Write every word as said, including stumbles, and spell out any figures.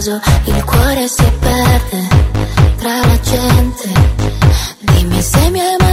caso il cuore si perde tra la gente. Dimmi se mi hai